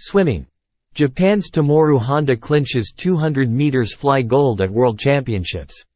Swimming. Japan's Tomoru Honda clinches 200 meters fly gold at World Championships.